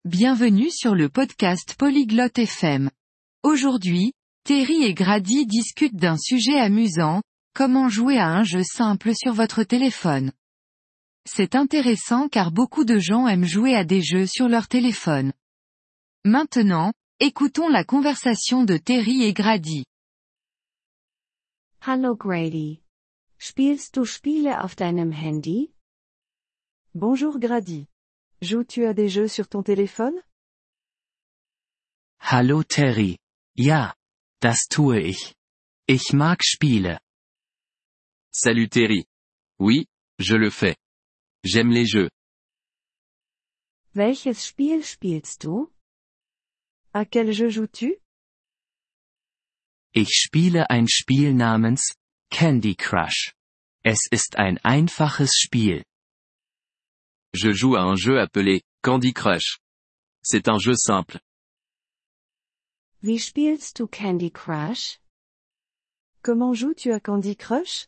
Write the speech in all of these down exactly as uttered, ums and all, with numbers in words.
Bienvenue sur le podcast Polyglotte F M. Aujourd'hui, Terry et Grady discutent d'un sujet amusant, comment jouer à un jeu simple sur votre téléphone. C'est intéressant car beaucoup de gens aiment jouer à des jeux sur leur téléphone. Maintenant, écoutons la conversation de Terry et Grady. Hallo Grady. Spielst du Spiele auf deinem Handy? Bonjour Grady. Joues-tu à des jeux sur ton téléphone? Hallo Terry. Ja, das tue ich. Ich mag Spiele. Salut Terry. Oui, je le fais. J'aime les jeux. Welches Spiel spielst du? À quel jeu joues-tu? Ich spiele ein Spiel namens Candy Crush. Es ist ein einfaches Spiel. Je joue à un jeu appelé Candy Crush. C'est un jeu simple. Wie spielst du Candy Crush? Comment joues-tu à Candy Crush?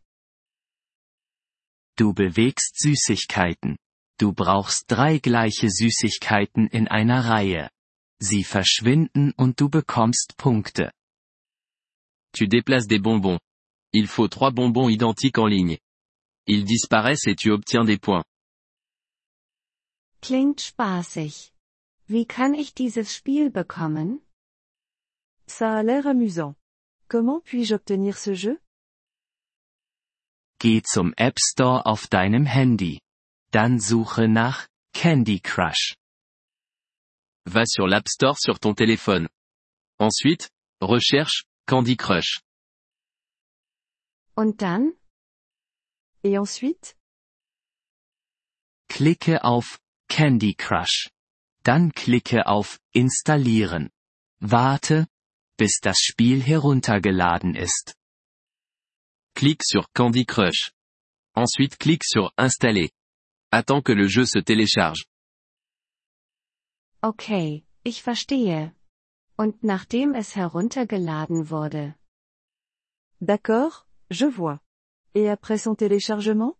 Du bewegst Süßigkeiten. Du brauchst drei gleiche Süßigkeiten in einer Reihe. Sie verschwinden und du bekommst Punkte. Tu déplaces des bonbons. Il faut trois bonbons identiques en ligne. Ils disparaissent et tu obtiens des points. Klingt spaßig. Wie kann ich dieses Spiel bekommen? Ça a l'air amusant. Comment puis-je obtenir ce jeu? Geh zum App Store auf deinem Handy. Dann suche nach Candy Crush. Va sur l'App Store sur ton téléphone. Ensuite, recherche Candy Crush. Und dann? Et ensuite? Klicke auf Candy Crush. Dann klicke auf Installieren. Warte, bis das Spiel heruntergeladen ist. Clique sur Candy Crush. Ensuite clique sur Installer. Attends que le jeu se télécharge. Okay, ich verstehe. Und nachdem es heruntergeladen wurde? D'accord, je vois. Et après son téléchargement?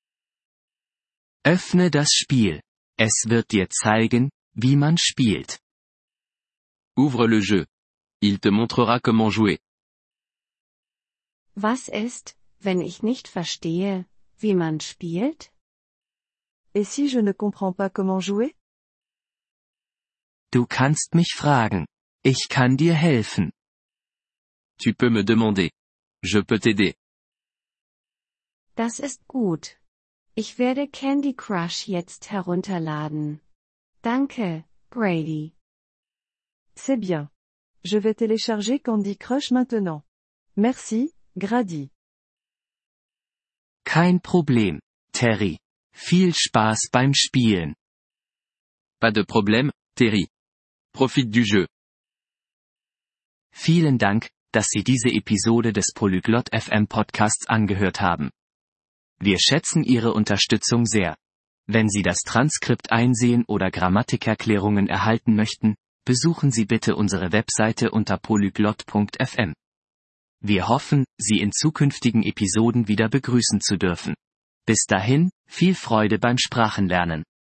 Öffne das Spiel. Es wird dir zeigen, wie man spielt. Ouvre le jeu. Il te montrera comment jouer. Was ist, wenn ich nicht verstehe, wie man spielt? Et si je ne comprends pas comment jouer? Du kannst mich fragen. Ich kann dir helfen. Tu peux me demander. Je peux t'aider. Das ist gut. Ich werde Candy Crush jetzt herunterladen. Danke, Grady. C'est bien. Je vais télécharger Candy Crush maintenant. Merci, Grady. Kein Problem, Terry. Viel Spaß beim Spielen. Pas de problème, Terry. Profite du jeu. Vielen Dank, dass Sie diese Episode des Polyglot F M Podcasts angehört haben. Wir schätzen Ihre Unterstützung sehr. Wenn Sie das Transkript einsehen oder Grammatikerklärungen erhalten möchten, besuchen Sie bitte unsere Webseite unter polyglot punkt f m. Wir hoffen, Sie in zukünftigen Episoden wieder begrüßen zu dürfen. Bis dahin, viel Freude beim Sprachenlernen.